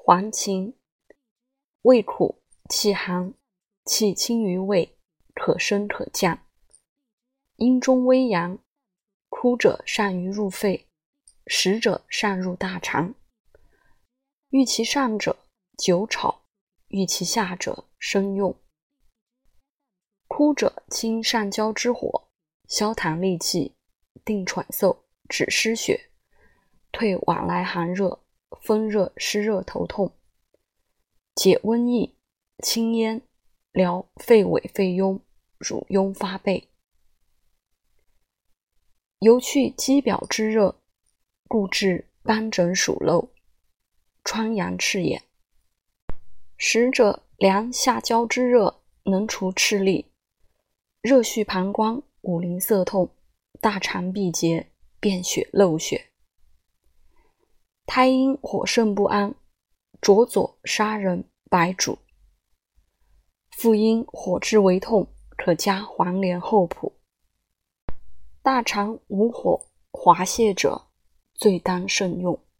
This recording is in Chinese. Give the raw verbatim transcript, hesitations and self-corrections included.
黄芩，味苦，气寒，气轻于胃，可升可降。阴中微阳，枯者善于入肺，实者善入大肠。遇其上者久炒，遇其下者生用。枯者清上焦之火，消痰利气，定喘嗽，止湿血，退往来寒热，风热湿热头痛，解瘟疫，清咽，疗肺痿肺痈，乳痈发背。尤去肌表之热，故治斑疹属漏，疮疡赤眼。实者凉下焦之热，能除赤痢，热续膀胱，五淋涩痛，大肠闭结，便血漏血。胎阴火盛不安，灼左杀人，白术。妇阴火滞为痛，可加黄连厚朴。大肠无火滑泻者，最当慎用。